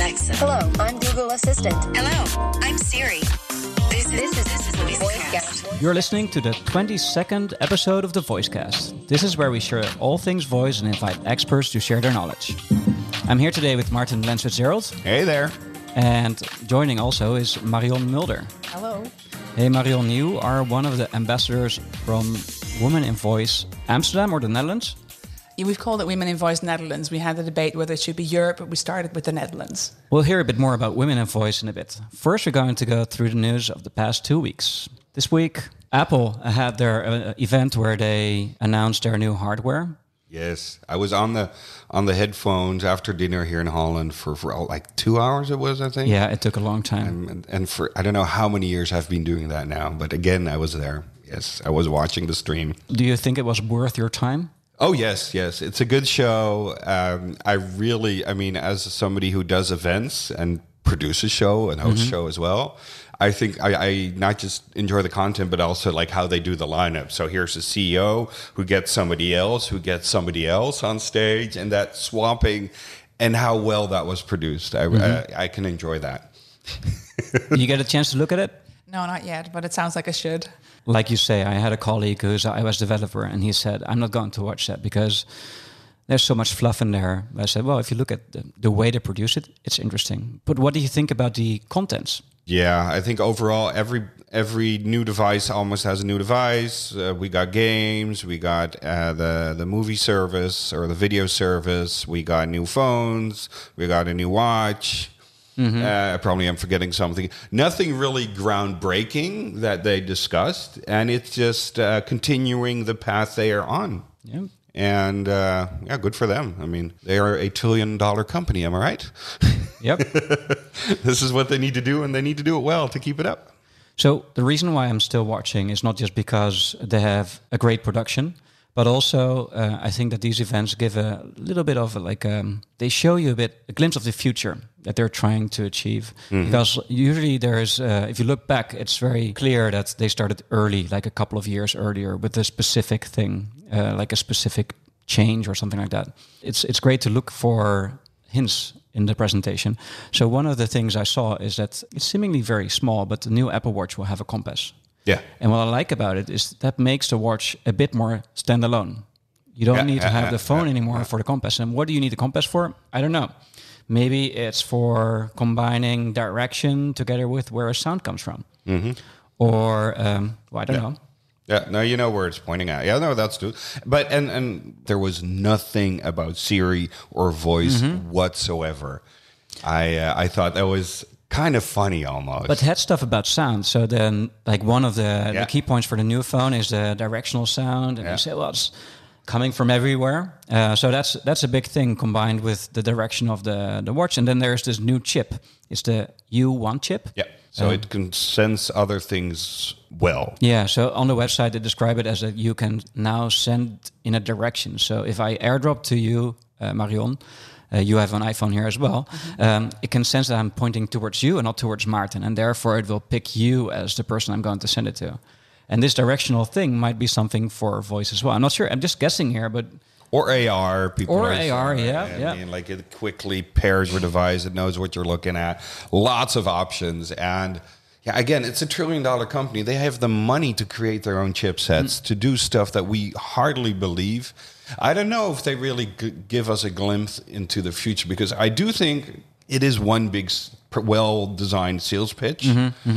Alexa. Hello, I'm Google Assistant. Hello, I'm Siri. This is VoiceCast. You're listening to the 22nd episode of the VoiceCast. This is where we share all things voice and invite experts to share their knowledge. I'm here today with Martin Lens-Fitzgerald. Hey there. And joining also is Marion Mulder. Hello. Hey Marion, you are one of the ambassadors from Women in Voice Amsterdam or the Netherlands? Yeah, we've called it Women in Voice Netherlands. We had a debate whether it should be Europe, but we started with the Netherlands. We'll hear a bit more about Women in Voice in a bit. First, we're going to go through the news of the past 2 weeks. This week, Apple had their event where they announced their new hardware. Yes, I was on the headphones after dinner here in Holland for like 2 hours. It was, I think. Yeah, it took a long time. And for I don't know how many years I've been doing that now, but again, I was there. Yes, I was watching the stream. Do you think it was worth your time? Oh, yes. It's a good show. I mean, as somebody who does events and produces a show and hosts a show as well, I think I not just enjoy the content, but also like how they do the lineup. So here's a CEO who gets somebody else on stage, and that swapping and how well that was produced. I can enjoy that. You get a chance to look at it? No, not yet, but it sounds like I should. Like you say, I had a colleague who's an iOS developer, and he said, I'm not going to watch that because there's so much fluff in there. I said, well, if you look at the way they produce it, it's interesting. But what do you think about the contents? Yeah, I think overall, every new device almost has a new device. We got games, we got the movie service or the video service. We got new phones, we got a new watch. Probably I'm forgetting something. Nothing really groundbreaking that they discussed, and it's just continuing the path they are on. Yeah. And good for them. I mean, they are $1 trillion company. Am I right? Yep. This is what they need to do, and they need to do it well to keep it up. So the reason why I'm still watching is not just because they have a great production, but also I think that these events give a little bit of they show you a glimpse of the future that they're trying to achieve. Because usually there's, if you look back, it's very clear that they started early, like a couple of years earlier with a specific thing, like a specific change or something like that. It's great to look for hints in the presentation. So one of the things I saw is that it's seemingly very small, but the new Apple Watch will have a compass. Yeah. And what I like about it is that makes the watch a bit more standalone. You don't need to have the phone anymore for the compass. And what do you need the compass for? I don't know. Maybe it's for combining direction together with where a sound comes from. Or, I don't know. Yeah, no, you know where it's pointing at. Yeah, no, that's true. But and there was nothing about Siri or voice whatsoever. I thought that was kind of funny almost. But it had stuff about sound. So then, like one of the key points for the new phone is the directional sound, and you say, well, it's coming from everywhere. So that's a big thing combined with the direction of the watch. And then there's this new chip. It's the U1 chip. Yeah. So it can sense other things well. Yeah, so on the website they describe it as that you can now send in a direction. So if I airdrop to you, Marion, you have an iPhone here as well, it can sense that I'm pointing towards you and not towards Martin, and therefore it will pick you as the person I'm going to send it to. And this directional thing might be something for voice as well. I'm not sure, I'm just guessing here, but... Or AR. Yeah. I mean, like it quickly pairs with a device. It knows what you're looking at. Lots of options. And yeah, again, it's $1 trillion company. They have the money to create their own chipsets, to do stuff that we hardly believe. I don't know if they really give us a glimpse into the future, because I do think it is one big, well-designed sales pitch.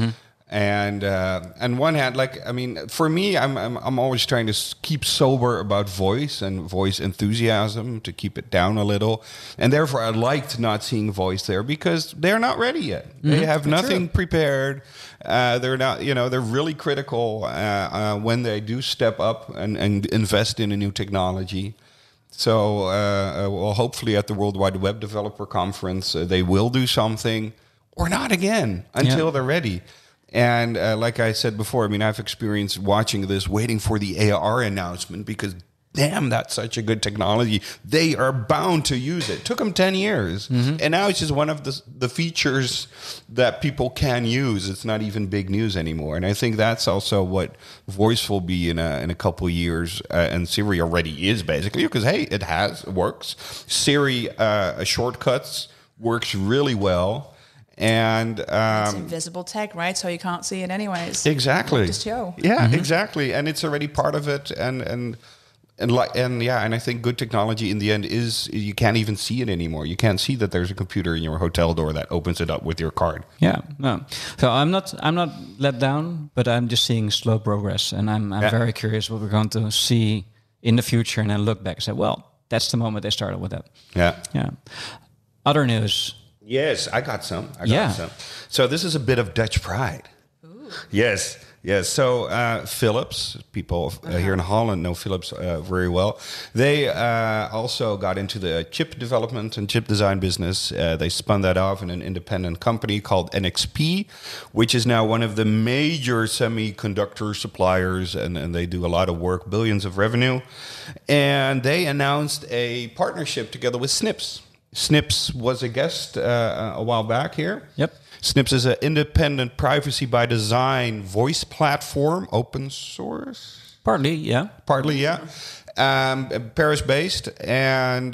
And on one hand, like, I mean, for me, I'm always trying to keep sober about voice and voice enthusiasm, to keep it down a little. And therefore, I liked not seeing voice there because they're not ready yet. They have nothing prepared. They're not, they're really critical when they do step up and invest in a new technology. So, well, hopefully at the World Wide Web Developer Conference, they will do something, or not again, until they're ready. And like I said before, I mean, I've experienced watching this, waiting for the AR announcement, because damn, that's such a good technology. They are bound to use it. Took them 10 years. And now it's just one of the features that people can use. It's not even big news anymore. And I think that's also what voice will be in a couple of years. And Siri already is, basically, because, hey, it works. Siri shortcuts works really well. And it's invisible tech, right? So you can't see it anyways. Exactly. Just show. Yeah, exactly. And it's already part of it. And I think good technology in the end is you can't even see it anymore. You can't see that there's a computer in your hotel door that opens it up with your card. Yeah, no. So I'm not let down, but I'm just seeing slow progress, and I'm very curious what we're going to see in the future, and then look back and say, well, that's the moment they started with that. Yeah. Other news. Yes, I got some. So this is a bit of Dutch pride. Ooh. Yes. So Philips, people here in Holland know Philips very well. They also got into the chip development and chip design business. They spun that off in an independent company called NXP, which is now one of the major semiconductor suppliers, and they do a lot of work, billions of revenue. And they announced a partnership together with Snips. Snips was a guest a while back here. Yep. Snips is an independent privacy by design voice platform, open source. Partly, yeah. Paris-based. And,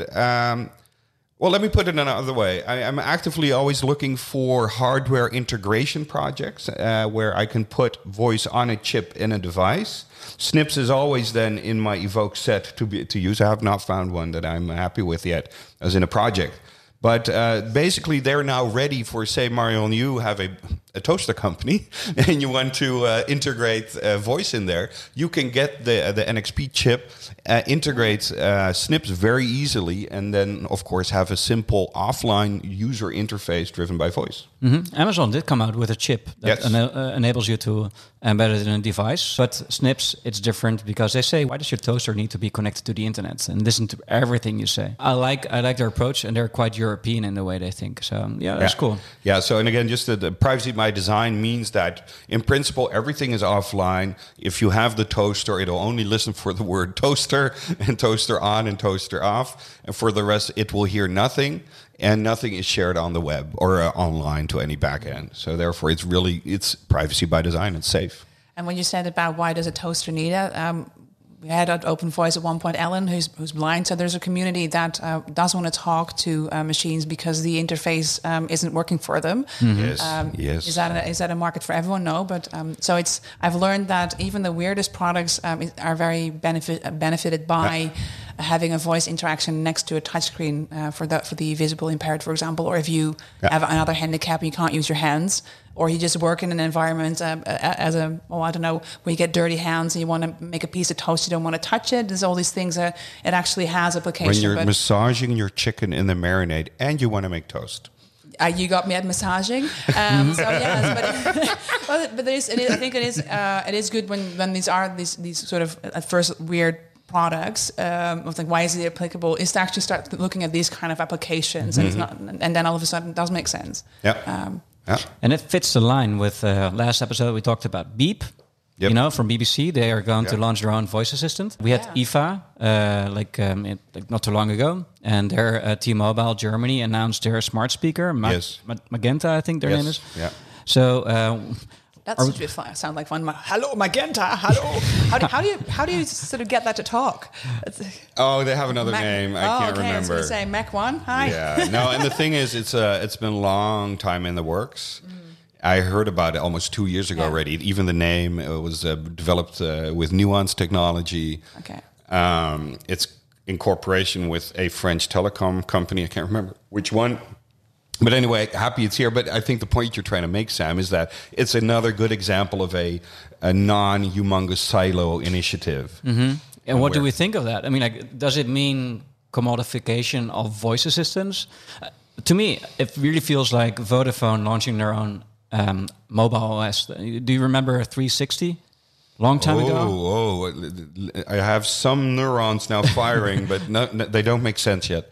let me put it another way. I'm actively always looking for hardware integration projects where I can put voice on a chip in a device. Snips is always then in my Evoke set to use. I have not found one that I'm happy with yet as in a project. But basically, they're now ready for, say, Marion, you have a toaster company and you want to integrate voice in there. You can get the NXP chip, integrate Snips very easily, and then, of course, have a simple offline user interface driven by voice. Mm-hmm. Amazon did come out with a chip that enables you to embed it in a device. But Snips, it's different because they say, why does your toaster need to be connected to the internet and listen to everything you say? I like their approach, and they're quite European in the way they think. So, that's cool. Yeah, so, and again, just the privacy by design means that, in principle, everything is offline. If you have the toaster, it'll only listen for the word toaster and toaster on and toaster off. And for the rest, it will hear nothing. And nothing is shared on the web or online to any backend. So therefore, it's privacy by design. It's safe. And when you said about why does a toaster need it, we had at Open Voice at one point Ellen, who's blind. So there's a community that does want to talk to machines because the interface isn't working for them. Mm-hmm. Yes. Is that a market for everyone? No, but so I've learned that even the weirdest products are very benefited by having a voice interaction next to a touchscreen for the visually impaired, for example, or if you have another handicap and you can't use your hands, or you just work in an environment where you get dirty hands and you want to make a piece of toast, you don't want to touch it. There's all these things that it actually has application. When you're massaging your chicken in the marinade and you want to make toast. You got me at massaging. So yes, but there is. I think it is good when these sort of at first weird products of like why is it applicable is to actually start looking at these kind of applications and it's not, and then all of a sudden it does make sense. And it fits the line with last episode we talked about Beep. From BBC, they are going to launch their own voice assistant. We had IFA not too long ago, and their T-Mobile Germany announced their smart speaker, Magenta, I think their name is. Yeah. So that should sound like fun. Hello, Magenta. Hello. How do you sort of get that to talk? They have another name. I can't remember. I was going to say Mac 1. Hi. Yeah. No, and the thing is, it's been a long time in the works. I heard about it almost 2 years ago already. Even the name was developed with Nuance technology. Okay. It's in cooperation with a French telecom company. I can't remember which one. But anyway, happy it's here. But I think the point you're trying to make, Sam, is that it's another good example of a non-humongous silo initiative. Mm-hmm. And what do we think of that? I mean, does it mean commodification of voice assistants? To me, it really feels like Vodafone launching their own mobile OS. Do you remember 360? Long time ago? I have some neurons now firing, but they don't make sense yet.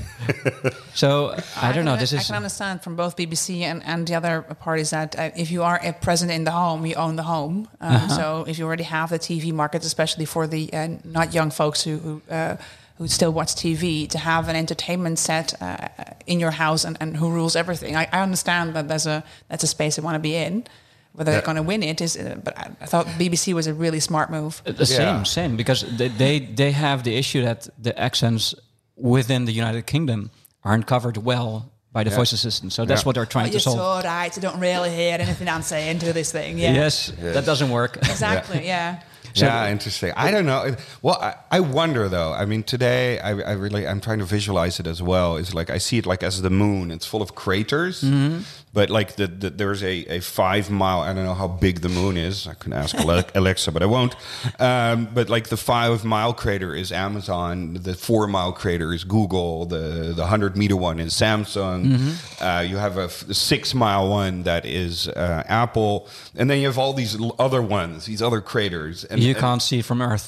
So, I don't know. I can understand from both BBC and the other parties that if you are present in the home, you own the home. So if you already have the TV market, especially for the not young folks who still watch TV, to have an entertainment set in your house and who rules everything. I understand that that's a space they want to be in. Whether they're going to win it is, but I thought BBC was a really smart move. Same, because they have the issue that the accents within the United Kingdom aren't covered well by the voice assistant. So that's what they're trying to solve. You're so right. You don't really hear anything I'm saying to this thing. Yeah. Yes, that doesn't work. Exactly. Yeah. So interesting. I don't know. Well, I wonder though. I mean, today I'm trying to visualize it as well. It's like I see it like as the moon. It's full of craters, but like there's a 5 mile. I don't know how big the moon is. I can ask Alexa, but I won't. But like the 5 mile crater is Amazon. The 4 mile crater is Google. The 100 meter one is Samsung. You have a 6 mile one that is Apple, and then you have all these other ones, these other craters. And you can't see from Earth.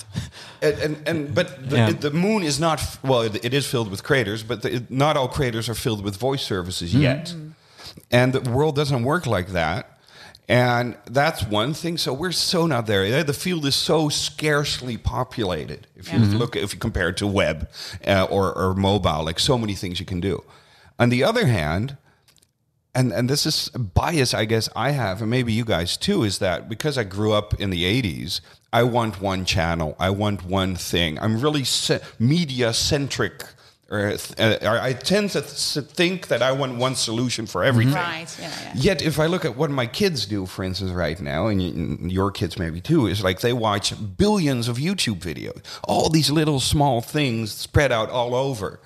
But the moon is not, it is filled with craters, but not all craters are filled with voice services yet. And the world doesn't work like that. And that's one thing. So we're so not there. The field is so scarcely populated. If you compare it to web or mobile, like so many things you can do. On the other hand, and this is a bias I guess I have, and maybe you guys too, is that because I grew up in the 80s, I want one channel. I want one thing. I'm really media-centric. I tend to think that I want one solution for everything. Right, yeah. Yet if I look at what my kids do, for instance, right now, and your kids maybe too, is like they watch billions of YouTube videos. All these little small things spread out all over.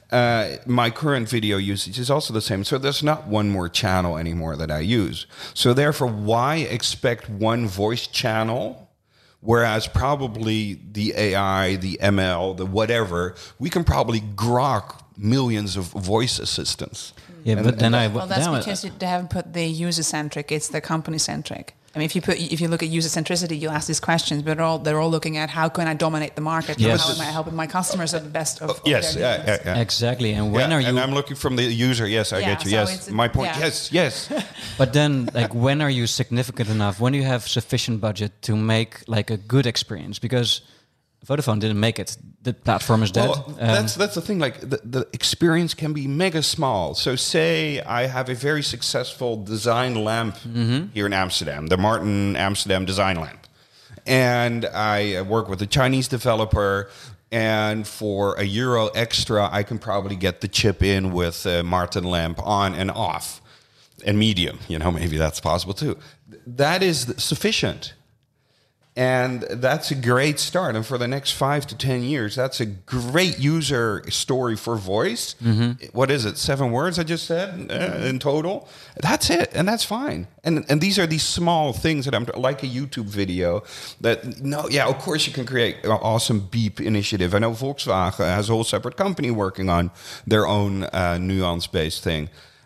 My current video usage is also the same. So there's not one more channel anymore that I use. So therefore, why expect one voice channel? Whereas probably the AI, the ML, the whatever, we can probably grok millions of voice assistants. Yeah, but then that's because they haven't put the user-centric, it's the company-centric. I mean, if you look at user centricity, you ask these questions, but they're all looking at how can I dominate the market? Yes. How am I helping my customers at the best of yes, their needs? Exactly. And when are you? And I'm looking from the user. Yes, I get you. so Yes, my point. Yeah. Yes. But then, like, when are you significant enough? When do you have sufficient budget to make like a good experience? Because Vodafone didn't make it. The platform is dead. Well, that's the thing. Like the experience can be mega small. So say I have a very successful design lamp here in Amsterdam, the Martin Amsterdam design lamp. And I work with a Chinese developer, and for €1 extra, I can probably get the chip in with Martin lamp on and off. And medium, maybe that's possible too. That is sufficient. And that's a great start. And for the next 5 to 10 years, that's a great user story for voice. What is it? 7 words I just said in total. That's it. And that's fine. And these are these small things that I'm like a YouTube video that, of course you can create an awesome beep initiative. I know Volkswagen has a whole separate company working on their own nuance-based thing.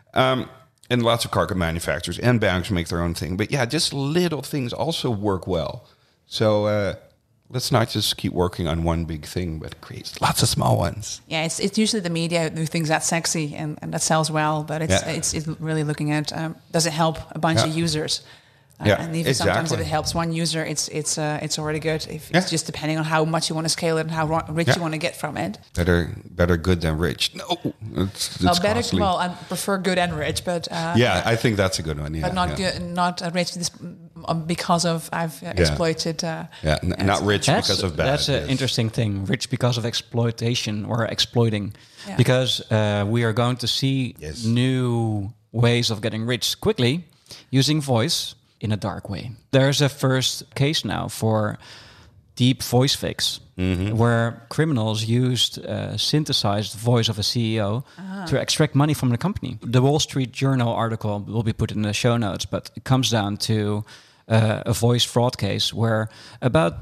And lots of car manufacturers and banks make their own thing. But yeah, just little things also work well. So let's not just keep working on one big thing, but create lots of small ones. Yeah, it's usually the media who thinks that's sexy and that sells well, but it's really looking at does it help a bunch of users? And even sometimes if it helps one user, it's already good. If it's just depending on how much you want to scale it and how rich you want to get from it. Better good than rich. No, it's better. costly. Well, I prefer good and rich, but I think that's a good one. Yeah, but not good, not rich because of I've exploited. Not rich because of bad. That's an interesting thing. Rich because of exploitation or exploiting, because we are going to see new ways of getting rich quickly using voice. In a dark way. There's a first case now for deep voice fakes, where criminals used synthesized voice of a CEO to extract money from the company. The Wall Street Journal article will be put in the show notes, but it comes down to a voice fraud case where about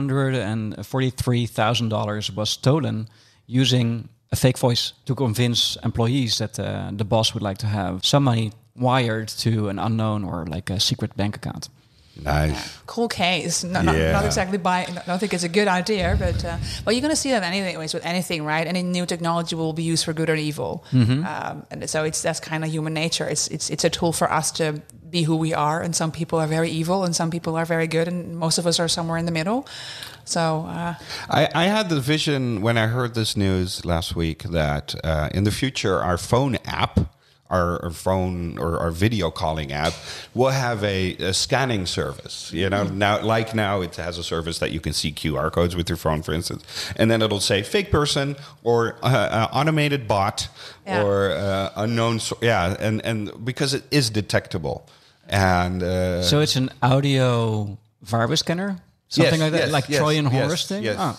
$243,000 was stolen using a fake voice to convince employees that the boss would like to have some money wired to an unknown or like a secret bank account. Nice. Cool case. Not exactly I don't think it's a good idea, but you're going to see that anyways with anything, right? Any new technology will be used for good or evil, and so that's kind of human nature. It's a tool for us to be who we are, and some people are very evil, and some people are very good, and most of us are somewhere in the middle. So I had the vision when I heard this news last week that in the future our phone app, our phone or our video calling app will have a scanning service. You know, now it has a service that you can see QR codes with your phone, for instance, and then it'll say fake person or automated bot or unknown. And because it is detectable, and so it's an audio virus scanner. Something like that, like Trojan Horse thing? Yes,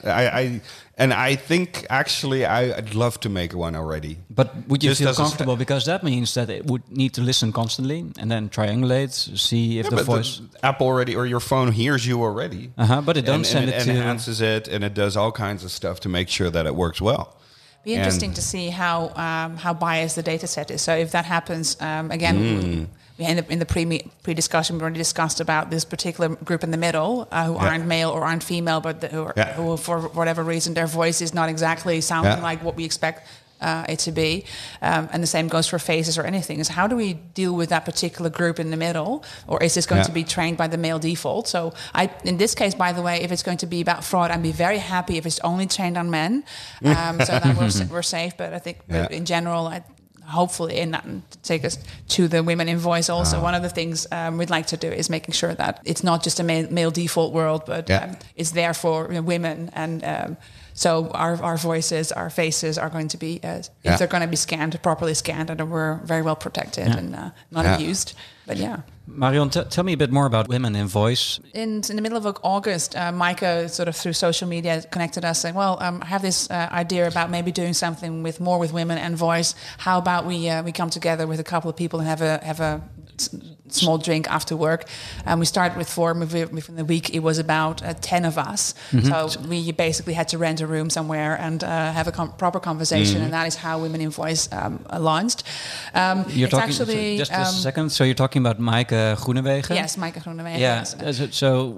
I think actually I'd love to make one already. But would you feel comfortable? Because that means that it would need to listen constantly and then triangulate, see if the voice... The app already, or your phone hears you already. But it doesn't send it to... And enhances it, and it does all kinds of stuff to make sure that it works well. Be interesting to see how biased the data set is. So if that happens, again... We end up in the pre-discussion. We already discussed about this particular group in the middle who aren't male or aren't female, but who, for whatever reason, their voice is not exactly sounding like what we expect it to be. And the same goes for faces or anything. Is how do we deal with that particular group in the middle? Or is this going to be trained by the male default? So in this case, by the way, if it's going to be about fraud, I'd be very happy if it's only trained on men. So that we're safe. But I think in general, hopefully, and that to take us to the women in voice also, one of the things we'd like to do is making sure that it's not just a male default world, but it's there for women. And so our voices, our faces are going to be, if they're going to be scanned, properly scanned, and we're very well protected and not abused. But Marion, tell me a bit more about Women in Voice. In the middle of August, Maaike sort of through social media connected us saying, well, I have this idea about maybe doing something with women and voice. How about we come together with a couple of people and have a small drink after work. We started with 4. Within the week, it was about 10 of us. So we basically had to rent a room somewhere and have a proper conversation, and that is how Women in Voice launched. You're talking, actually, just a second. So you're talking about Maaike Groenewegen? Yes, Maaike Groenewegen. Yeah. Yes. So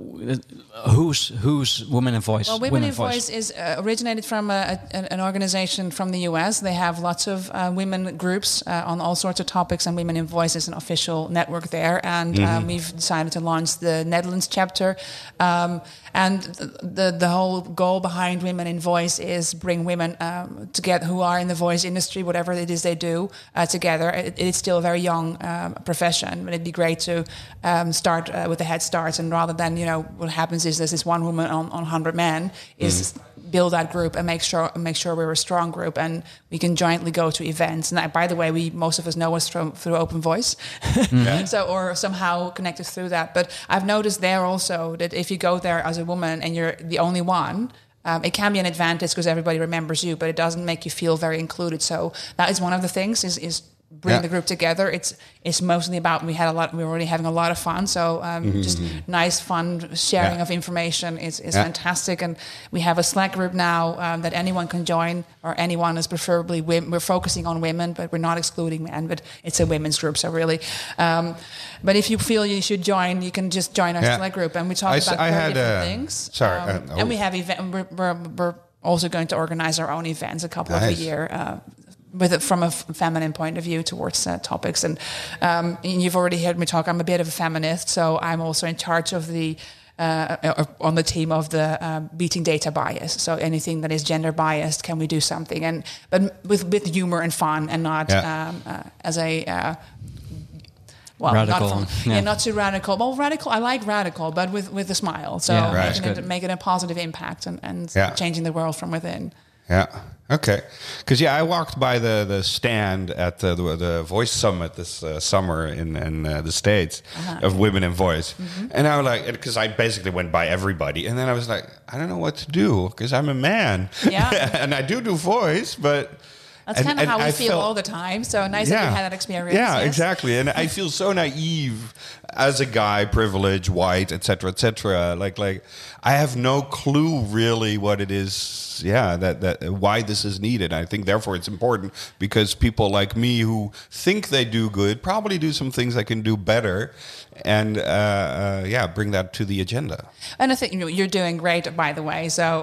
who's Women in Voice? Well, Women in Voice is originated from an organization from the US. They have lots of women groups on all sorts of topics, and Women in Voice is an official network there. And we've decided to launch the Netherlands chapter. And the whole goal behind Women in Voice is bring women together who are in the voice industry, whatever it is they do, together. It is still a very young profession, but it'd be great to start with a head start. And rather than, what happens is there's this one woman on 100 men, is build that group and make sure we're a strong group and we can jointly go to events. And by the way, most of us know us through Open Voice, so or somehow connected through that. But I've noticed there also that if you go there as a woman and you're the only one, it can be an advantage because everybody remembers you, but it doesn't make you feel very included. So that is one of the things is bring the group together. It's mostly about we were already having a lot of fun. So just nice, fun sharing of information is fantastic. And we have a Slack group now that anyone can join, or anyone is preferably women. We're focusing on women, but we're not excluding men. But it's a women's group, so really. But if you feel you should join, you can just join our Slack group, and we talk about very different things. And we have we're also going to organize our own events, a couple of a year. From a feminine point of view towards topics. And you've already heard me talk, I'm a bit of a feminist, so I'm also in charge of on the team of the beating data bias. So anything that is gender biased, can we do something? But with humor and fun, and not as a... radical. Not too radical. Well, radical, I like radical, but with a smile. So making a positive impact and changing the world from within. Yeah. Okay. Because I walked by the stand at the Voice Summit this summer in the States of Women in Voice, and I was like, because I basically went by everybody, and then I was like, I don't know what to do because I'm a man, and I do voice, but. That's kind of how we feel all the time. So nice that you had that experience. Yeah, exactly. And I feel so naive as a guy, privileged, white, etc., etc. Like I have no clue really what it is. Yeah, that why this is needed. I think therefore it's important because people like me who think they do good probably do some things I can do better, and bring that to the agenda. And I think you're doing great, by the way. So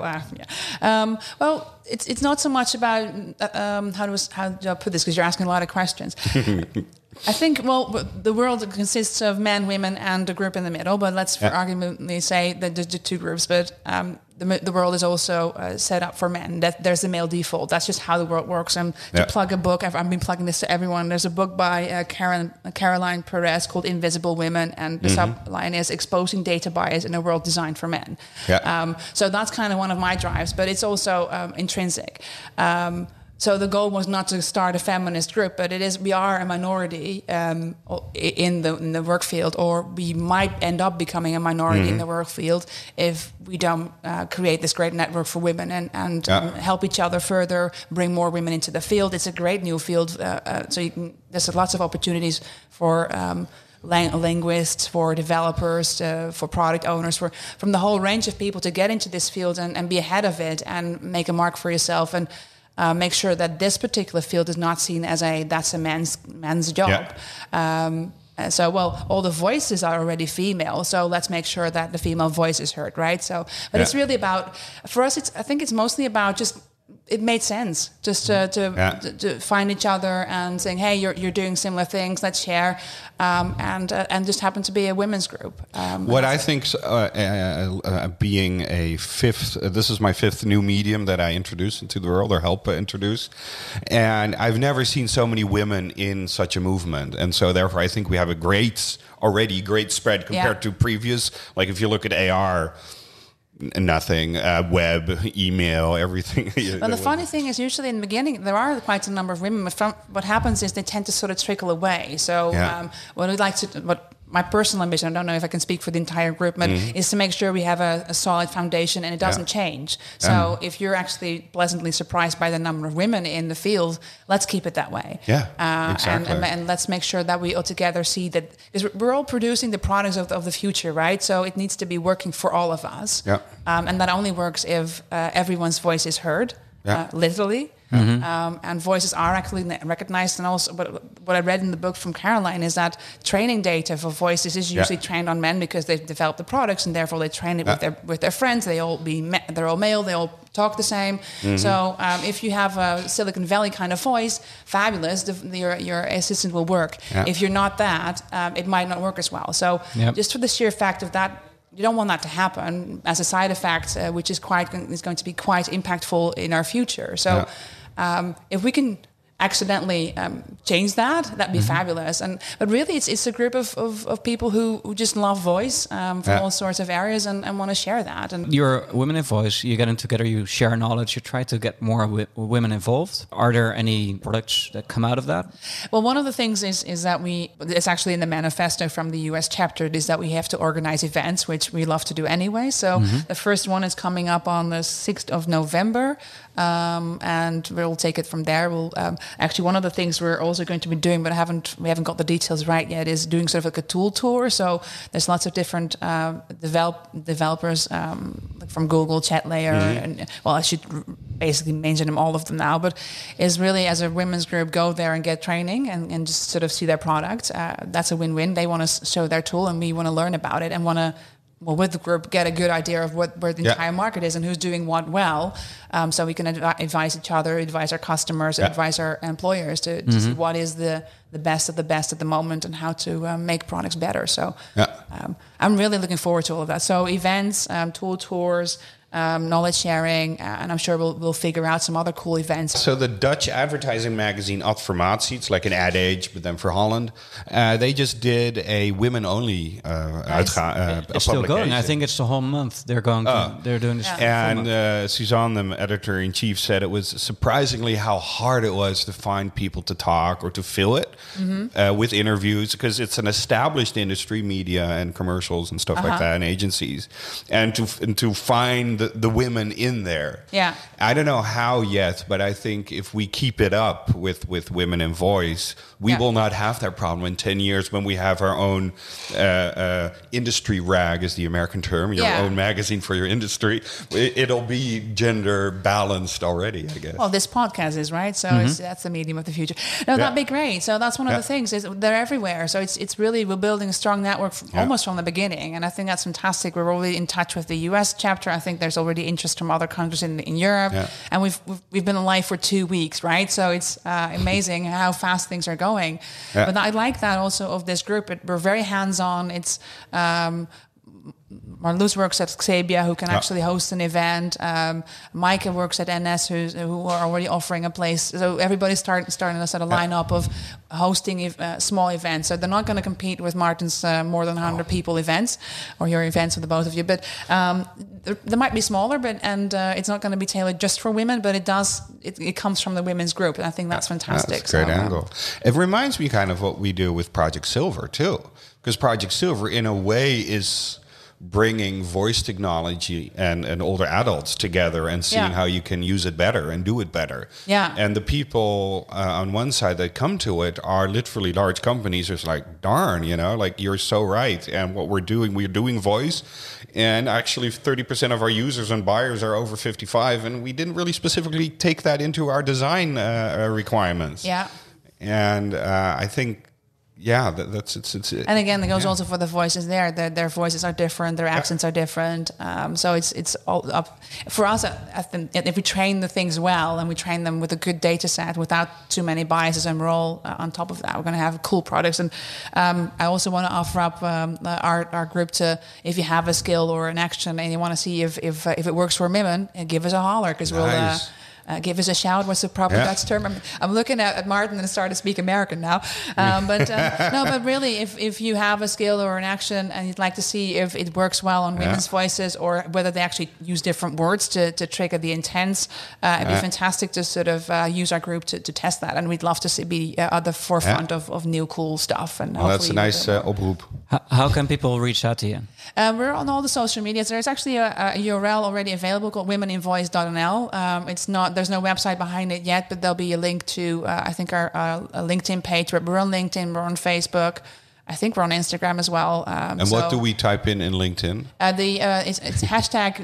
well. It's not so much about how do I put this, because you're asking a lot of questions. I think, the world consists of men, women, and a group in the middle. But let's for argument's say that there's the two groups. But the world is also set up for men. That there's a male default. That's just how the world works. And to plug a book, I've been plugging this to everyone. There's a book by Caroline Perez called Invisible Women, and the subline is Exposing Data Bias in a World Designed for Men. Yeah. So that's kind of one of my drives, but it's also intrinsic. So the goal was not to start a feminist group, but we are a minority in the work field, or we might end up becoming a minority in the work field if we don't create this great network for women and help each other further, bring more women into the field. It's a great new field, so there's lots of opportunities for linguists, for developers, for product owners, from the whole range of people to get into this field and be ahead of it and make a mark for yourself and make sure that this particular field is not seen as that's a man's job. All the voices are already female, so let's make sure that the female voice is heard, right? So, but it's really about, for us, I think it's mostly about just, it made sense just to find each other and saying, hey, you're doing similar things, let's share, and just happen to be a women's group. What I think, being a fifth, this is my fifth new medium that I introduce into the world, or help introduce, and I've never seen so many women in such a movement, and so therefore I think we have a great spread compared to previous. Like if you look at AR. Nothing, web, email, everything. Well, the funny thing is, usually in the beginning, there are quite a number of women, but what happens is they tend to sort of trickle away. So what my personal ambition, I don't know if I can speak for the entire group, but is to make sure we have a solid foundation and it doesn't change. So if you're actually pleasantly surprised by the number of women in the field, let's keep it that way. Exactly. And let's make sure that we all together see that, because we're all producing the products of the future, right? So it needs to be working for all of us. And that only works if everyone's voice is heard, literally. And voices are actually recognized. And also, what I read in the book from Caroline is that training data for voices is usually trained on men because they've developed the products, and therefore they train it with their friends. They're all male. They all talk the same. So if you have a Silicon Valley kind of voice, fabulous. Your assistant will work. If you're not that, it might not work as well. So just for the sheer fact of that. You don't want that to happen as a side effect, which is going to be quite impactful in our future. So, if we can accidentally change that'd be fabulous. But really, it's a group of people who just love voice from all sorts of areas and want to share that. And you're women in voice. You get in together. You share knowledge. You try to get more women involved. Are there any products that come out of that? Well, one of the things is that it's actually in the manifesto from the US chapter, is that we have to organize events, which we love to do anyway. So the first one is coming up on the 6th of November. And we'll take it from there. We'll actually, one of the things we're also going to be doing, but we haven't got the details right yet, is doing sort of like a tool tour. So there's lots of different developers like from Google, ChatLayer, and I should basically mention them, all of them now. But is really, as a women's group, go there and get training and just sort of see their product. That's a win-win. They want to show their tool, and we want to learn about it and want to. Well, with the group, get a good idea of where the entire market is and who's doing what well, so we can advise each other, advise our customers, advise our employers to see what is the best of the best at the moment and how to make products better. So I'm really looking forward to all of that. So events, tool tours, knowledge sharing, and I'm sure we'll figure out some other cool events. So the Dutch advertising magazine Adformatie, it's like an Ad Age, but then for Holland, they just did a women-only it's still going. I think it's the whole month. They're going. They're doing this. And Suzanne, the editor-in-chief, said it was surprisingly how hard it was to find people to talk or to fill it with interviews, because it's an established industry, media and commercials and stuff like that, and agencies, and to find the women in there. I don't know how yet, but I think if we keep it up with women in voice, we will not have that problem in 10 years when we have our own industry rag, is the American term, your own magazine for your industry. It'll be gender balanced already, I guess. Well, this podcast is, right? So that's the medium of the future. No, that'd be great. So that's one of the things, is they're everywhere. So it's really, we're building a strong network almost from the beginning. And I think that's fantastic. We're already in touch with the US chapter. I think there's already interest from other countries in Europe. And we've been alive for 2 weeks, right? So it's amazing how fast things are going. But I like that also of this group. We're very hands-on. It's Marloes works at Xebia, who can actually host an event. Maaike works at NS, who are already offering a place. So everybody's starting to set a lineup of hosting small events. So they're not going to compete with Martin's more than 100 people events, or your events with the both of you. But they might be smaller, and it's not going to be tailored just for women. But it comes from the women's group, and I think that's fantastic. That's a great angle. It reminds me kind of what we do with Project Silver too, because Project Silver, in a way, is bringing voice technology and older adults together and seeing how you can use it better and do it better. Yeah. And the people on one side that come to it are literally large companies. It's like, darn, like, you're so right. And what we're doing voice. And actually 30% of our users and buyers are over 55. And we didn't really specifically take that into our design requirements. Yeah. And I think, it's. And again, it goes also for the voices there. Their voices are different. Their accents are different. So it's all up for us. I think if we train the things well and we train them with a good data set without too many biases, and we're all on top of that, we're going to have cool products. And I also want to offer up our group to, if you have a skill or an action and you want to see if it works for women, give us a holler, because we'll. Give us a shout. What's the proper Dutch term? I'm looking at Martin and starting to speak American now. But really, if you have a skill or an action and you'd like to see if it works well on women's voices, or whether they actually use different words to trigger the intents, it'd be fantastic to sort of use our group to test that. And we'd love to be at the forefront of new cool stuff. And that's a nice oproep. How can people reach out to you? We're on all the social medias. There's actually a URL already available called womeninvoice.nl. There's no website behind it yet, but there'll be a link to I think our LinkedIn page. We're on LinkedIn, we're on Facebook. I think we're on Instagram as well. And what do we type in LinkedIn? It's hashtag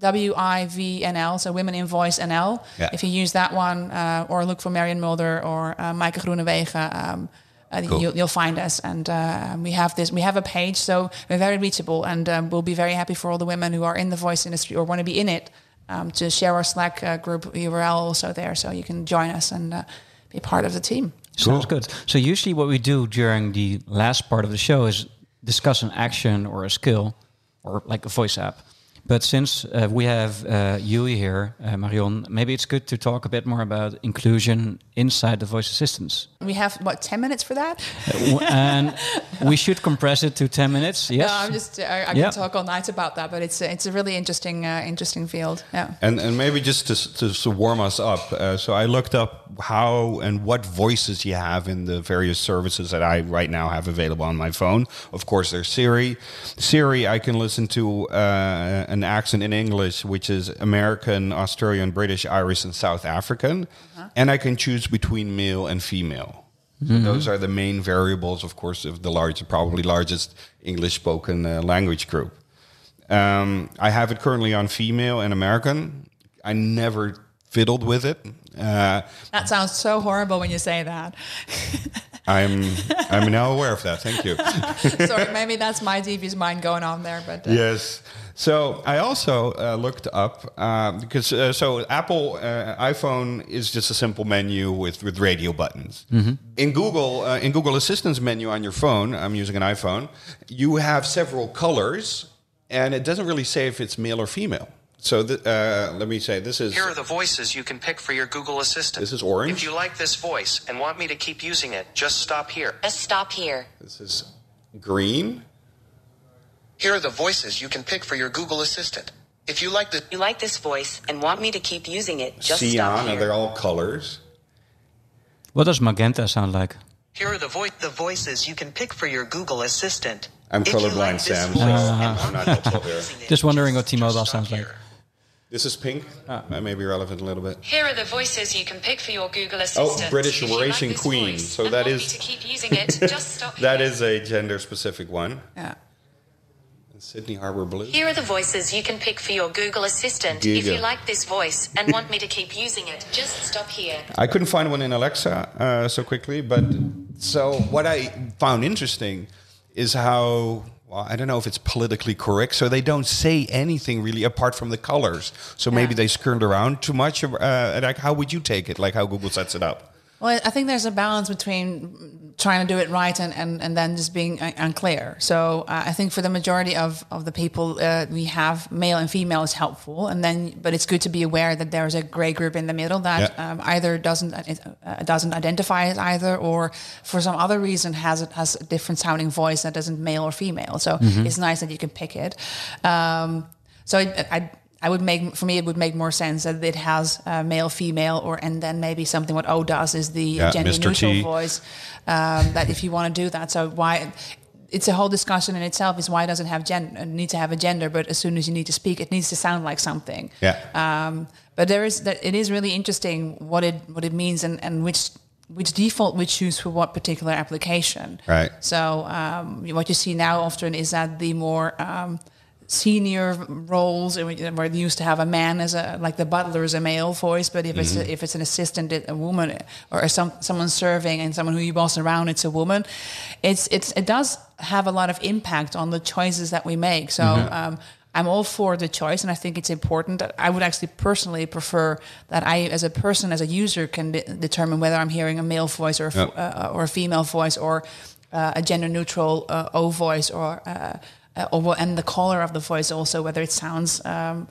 WIVNL, so Women in Voice NL. Yeah. If you use that one, or look for Marion Mulder or Maaike Groenewegen, cool. You'll find us, and we have a page, so we're very reachable, and we'll be very happy for all the women who are in the voice industry or want to be in it, to share our Slack group URL also there, so you can join us and be part of the team. Sounds good. So usually what we do during the last part of the show is discuss an action or a skill or like a voice app. But since we have Yui here, Marion, maybe it's good to talk a bit more about inclusion inside the voice assistants. We have, 10 minutes for that? And we should compress it to 10 minutes, yes? No, I can talk all night about that, but it's a really interesting field. Yeah. And maybe just to warm us up, so I looked up how and what voices you have in the various services that I right now have available on my phone. Of course, there's Siri. Siri, I can listen to an accent in English, which is American, Australian, British, Irish, and South African. And I can choose between male and female. Mm-hmm. Those are the main variables, of course, of the probably largest English-spoken language group. I have it currently on female and American. I never fiddled with it. That sounds so horrible when you say that. I'm now aware of that. Thank you. Sorry, maybe that's my devious mind going on there. But yes. So I also looked up because Apple iPhone is just a simple menu with radio buttons. Mm-hmm. In Google Assistant's menu on your phone, I'm using an iPhone, you have several colors, and it doesn't really say if it's male or female. So let me say, this is... Here are the voices you can pick for your Google Assistant. This is orange. If you like this voice and want me to keep using it, just stop here. Just stop here. This is green. Here are the voices you can pick for your Google Assistant. If you like this voice and want me to keep using it, just Cyan, stop here. And they're all colors. What does magenta sound like? Here are the voices you can pick for your Google Assistant. I'm colorblind, Sam, so I'm not helpful here. Just wondering what T-Mobile sounds like. This is pink. That may be relevant a little bit. Here are the voices you can pick for your Google Assistant. Oh, British Racing Queen. So that is... to keep using it, just stop here. That is a gender-specific one. Yeah. Sydney Harbor Blue. Here are the voices you can pick for your Google Assistant. Giga. If you like this voice and want me to keep using it, just stop here. I couldn't find one in Alexa so quickly, but so what I found interesting is how... Well, I don't know if it's politically correct. So they don't say anything really apart from the colors. So maybe they skirted around too much. Like, how would you take it? Like how Google sets it up? Well, I think there's a balance between trying to do it right and then just being unclear. So I think for the majority of the people, we have male and female is helpful, but it's good to be aware that there's a gray group in the middle that either doesn't identify as either, or for some other reason has a different sounding voice that isn't male or female. So it's nice that you can pick it. I would it would make more sense that it has male, female, and then maybe something what O does is the gender Mr. neutral T. voice. That if you want to do that, so why? It's a whole discussion in itself. Is why does it have need to have a gender? But as soon as you need to speak, it needs to sound like something. Yeah. But it is really interesting what it means and which default we choose for what particular application. Right. So what you see now often is that the more senior roles where they used to have a man as like the butler is a male voice, but if it's an assistant, a woman, or someone serving and someone who you boss around, it's a woman. It does have a lot of impact on the choices that we make. So I'm all for the choice, and I think it's important. I would actually personally prefer that I, as a person, as a user, can determine whether I'm hearing a male voice or a female voice, or a gender neutral O voice, and the color of the voice also, whether it sounds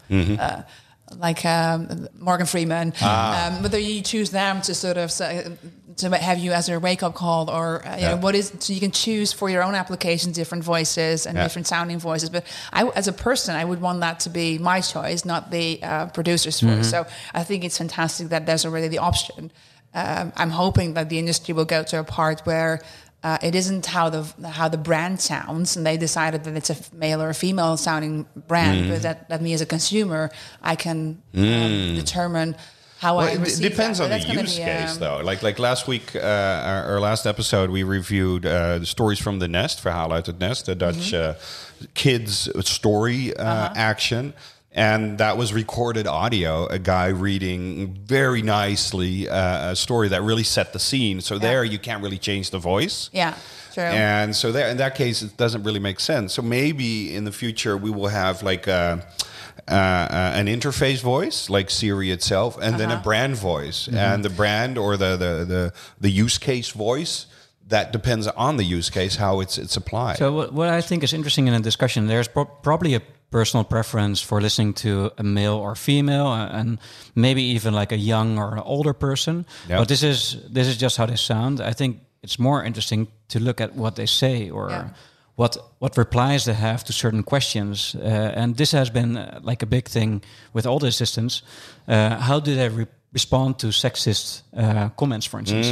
like Morgan Freeman, whether you choose them to sort of to have you as a wake-up call, or what is, so you can choose for your own application different voices and different sounding voices. But as a person, I would want that to be my choice, not the producer's voice. So I think it's fantastic that there's already the option. I'm hoping that the industry will go to a part where it isn't how the brand sounds, and they decided that it's a male or a female sounding brand, but that me as a consumer, I can determine how I receive. It depends on the use case, though. Like last week, our last episode, we reviewed the stories from The Nest, Verhalen uit het Nest, the Dutch kids story action. And that was recorded audio, a guy reading very nicely a story that really set the scene. So there you can't really change the voice. Yeah, true. And so there, in that case, it doesn't really make sense. So maybe in the future we will have like an interface voice, like Siri itself, and then a brand voice. And the brand or the use case voice, that depends on the use case, how it's applied. So what I think is interesting in a discussion, there's probably a personal preference for listening to a male or female, and maybe even like a young or an older person. Yep. But this is just how they sound. I think it's more interesting to look at what they say, or what replies they have to certain questions. And this has been like a big thing with all the assistants. How do they respond to sexist comments, for instance?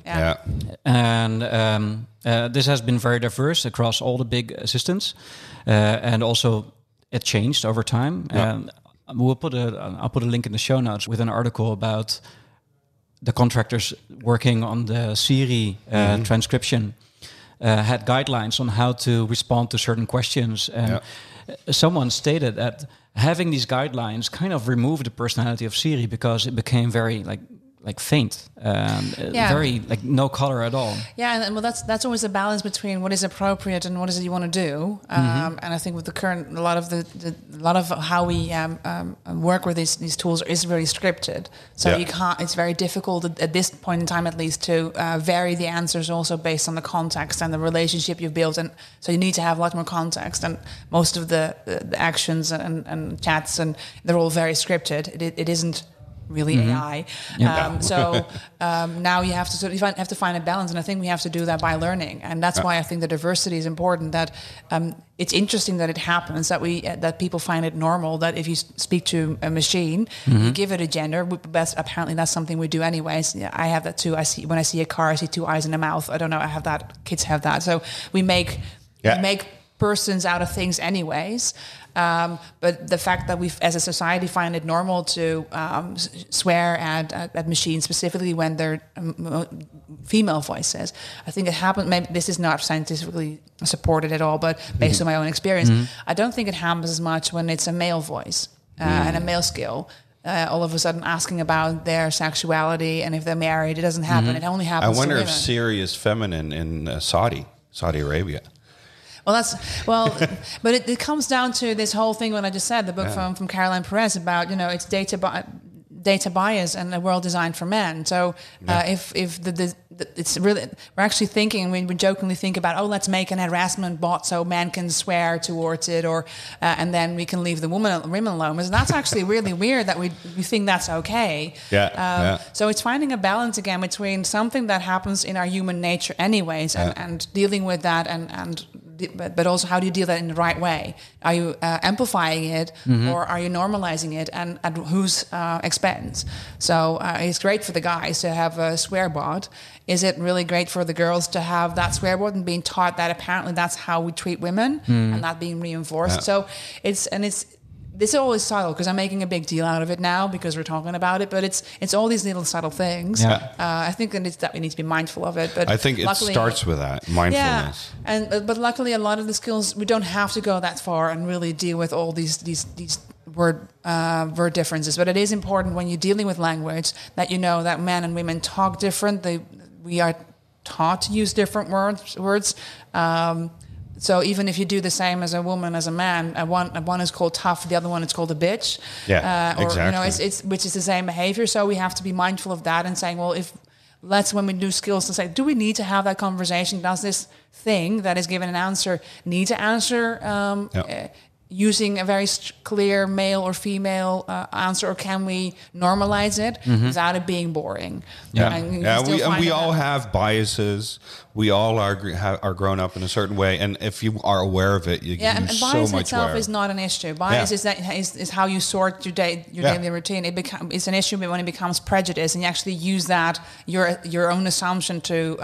And this has been very diverse across all the big assistants, and also it changed over time. I'll put a link in the show notes with an article about the contractors working on the Siri transcription had guidelines on how to respond to certain questions, and someone stated that having these guidelines kind of removed the personality of Siri, because it became very like faint, very like no color at all. Yeah, and well, that's always a balance between what is appropriate and what is it you want to do. And I think with the current, a lot of how we work with these tools is very scripted. So you can't. It's very difficult at this point in time, at least, to vary the answers also based on the context and the relationship you've built. And so you need to have a lot more context. And most of the actions and chats, and they're all very scripted. It isn't really AI. Now you have to find a balance, and I think we have to do that by learning, and that's why I think the diversity is important. That it's interesting that it happens that people find it normal that if you speak to a machine, you give it a gender. Apparently that's something we do anyways. I have that too. When I see a car, I see two eyes and a mouth. I don't know. I have that. Kids have that. So we make persons out of things anyways. But the fact that we, as a society, find it normal to swear at machines, specifically when they're female voices, I think it happens. Maybe this is not scientifically supported at all, but based on my own experience, I don't think it happens as much when it's a male voice and a male skill. All of a sudden asking about their sexuality and if they're married, it doesn't happen. It only happens to women. I wonder if Siri is feminine in Saudi Arabia. But it comes down to this whole thing. What I just said, the book from Caroline Perez about it's data data bias and a world designed for men. So if it's really, we're actually thinking, we jokingly think about, let's make an harassment bot so men can swear towards it, or and then we can leave the women alone. And that's actually really weird that we think that's okay. So it's finding a balance again between something that happens in our human nature anyways, and dealing with that, but also how do you deal that in the right way? Are you amplifying it, or are you normalizing it, and at whose expense? So it's great for the guys to have a swear bot. Is it really great for the girls to have that swear bot and being taught that apparently that's how we treat women, and that being reinforced? So this is always subtle, because I'm making a big deal out of it now because we're talking about it, but it's all these little subtle things. I think that we need to be mindful of it. But I think it starts with that mindfulness. But luckily, a lot of the skills, we don't have to go that far and really deal with all these word differences. But it is important when you're dealing with language that you know that men and women talk different. We are taught to use different words. So even if you do the same as a woman as a man, one is called tough, the other one is called a bitch. Exactly. It's which is the same behavior. So we have to be mindful of that and saying, well, when we do skills, to say, do we need to have that conversation? Does this thing that is given an answer need to answer using a very clear male or female answer, or can we normalize it without it being boring? We all have biases. We all are grown up in a certain way, and if you are aware of it, you can use so much. And bias itself is not an issue. Bias is how you sort your daily routine. It's an issue when it becomes prejudice, and you actually use that your own assumption to.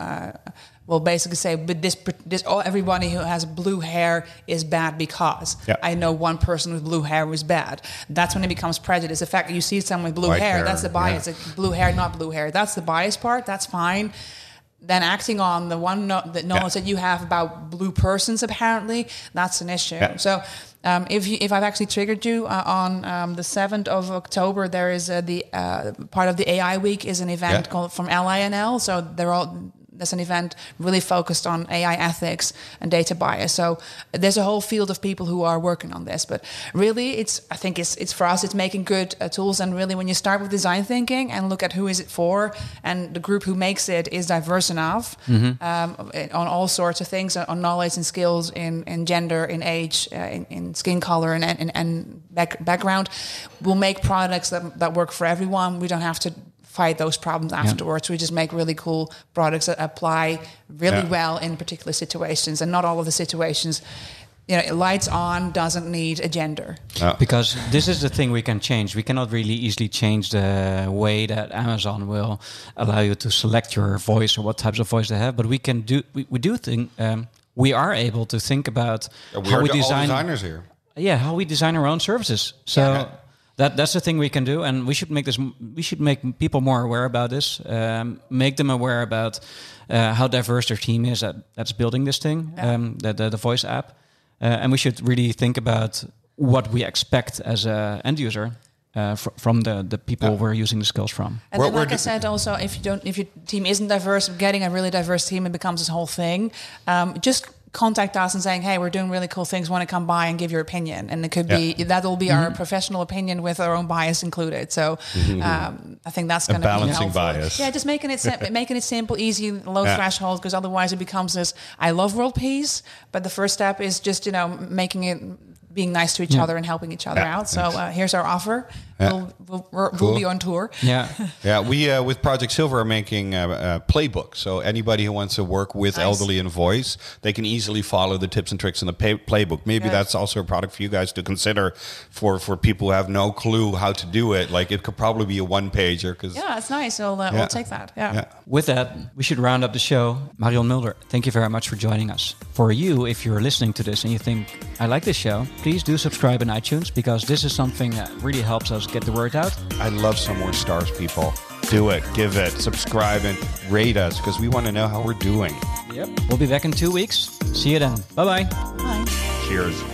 Basically say, but everybody who has blue hair is bad because I know one person with blue hair was bad. That's when it becomes prejudice. The fact that you see someone with blue hair, that's the bias. Like, blue hair, not blue hair. That's the bias part. That's fine. Then acting on the knowledge that you have about blue persons, apparently, that's an issue. So if I've actually triggered you on the 7th of October, there is the part of the AI week is an event called from LINL. So there's an event really focused on AI ethics and data bias. So there's a whole field of people who are working on this. But really, I think it's for us, it's making good tools. And really, when you start with design thinking and look at who is it for, and the group who makes it is diverse enough on all sorts of things, on knowledge and skills, in gender, in age, in skin color, and background, we'll make products that work for everyone. We don't have to fight those problems afterwards. We just make really cool products that apply really well in particular situations, and not all of the situations. Lights on doesn't need a gender. Because this is the thing we can change. We cannot really easily change the way that Amazon will allow you to select your voice or what types of voice they have. But we can do. We do think we are able to think about how we design. All designers here. Yeah, how we design our own services. So. That's the thing we can do, and we should make this. We should make people more aware about this. Make them aware about how diverse their team is that's building this thing, the voice app, and we should really think about what we expect as an end user from the people we're using the skills from. And then, like I said, also if your team isn't diverse, getting a really diverse team, it becomes this whole thing. Just contact us and saying, hey, we're doing really cool things, want to come by and give your opinion. And it could be, that'll be our professional opinion with our own bias included. So I think that's going to be balancing helpful. bias. Yeah, just making it simple, easy, low threshold, because otherwise it becomes this, I love world peace, but the first step is just, making it, being nice to each other and helping each other out. So here's our offer. We'll be on tour. We with Project Silver are making a playbook. So anybody who wants to work with elderly in voice, they can easily follow the tips and tricks in the playbook. Maybe that's also a product for you guys to consider for people who have no clue how to do it. Like it could probably be a one-pager. It's nice. We'll take that. With that, we should round up the show. Marion Mulder, thank you very much for joining us. For you, if you're listening to this and you think, I like this show, please do subscribe in iTunes, because this is something that really helps us get the word out. I'd love some more stars, people. Do it, give it, subscribe, and rate us, because we want to know how we're doing. Yep. We'll be back in 2 weeks. See you then. Bye-bye. Bye. Cheers.